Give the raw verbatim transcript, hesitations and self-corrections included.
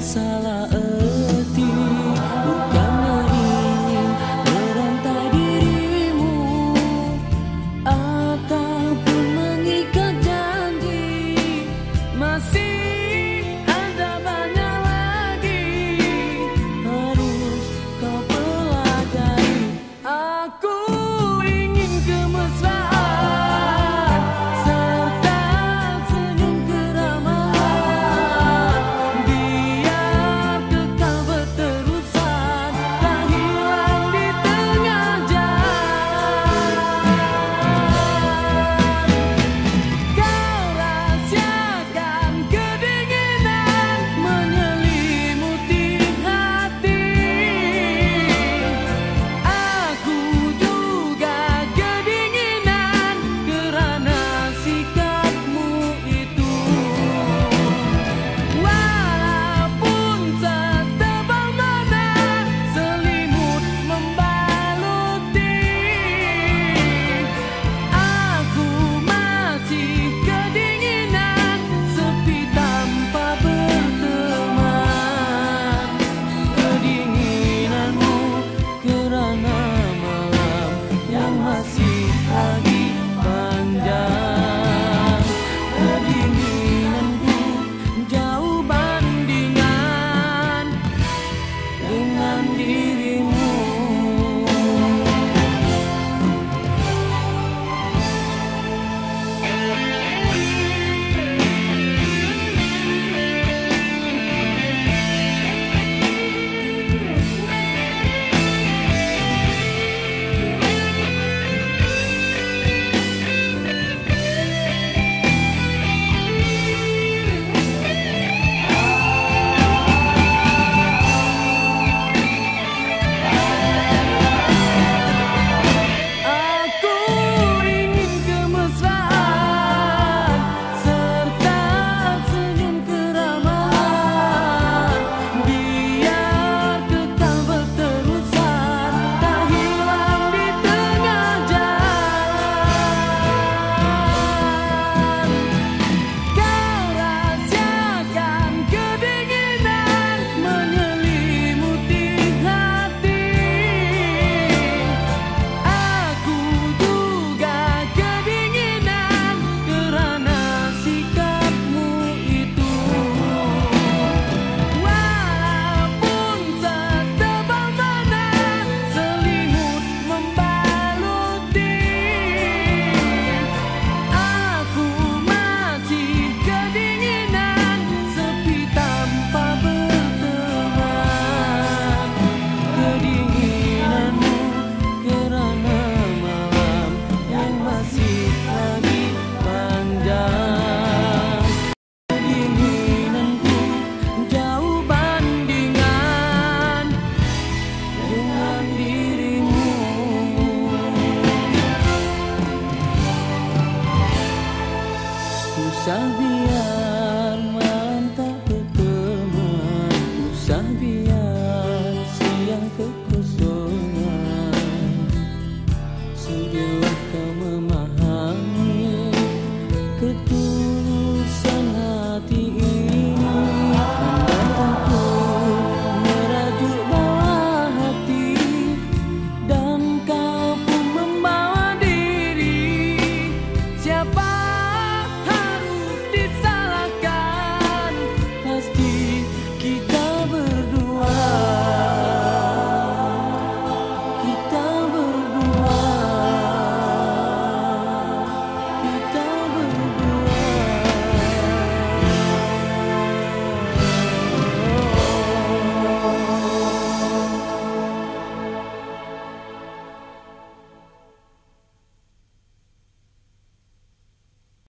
salah erti, bukannya ingin merantai dirimu ataupun mengikat janji. Masih ada banyak lagi harus kau pelajari. Aku ingin kemesraan serta senyum keramahan, biar kekal berterusan, tak hilang di tengah jalan. Kau rahasiakan kedinginan menyelimuti hati. Aku juga kedinginan kerana sikapmu itu. Walaupun setebal mana selimut membaluti, aku masih kedinginan sepi tanpa berteman. Kedinginanmu kerana malam yang masih lagi panjang. Kedinginanku jauh bandingan dengan dirimu. Aku ingin kemesraan serta senyum keramahan, biar kekal berterusan, tak hilang di tengah jalan. Kau rahasiakan kedinginan menyelimuti hati. Aku juga kedinginan kerana sikapmu itu. Walaupun setebal mana selimut membaluti, aku masih kedinginan sepi tanpa berteman. Kedinginanmu kerana malam yang masih lagi panjang. Kedinginanku jauh bandingan dengan dirimu. Usah biar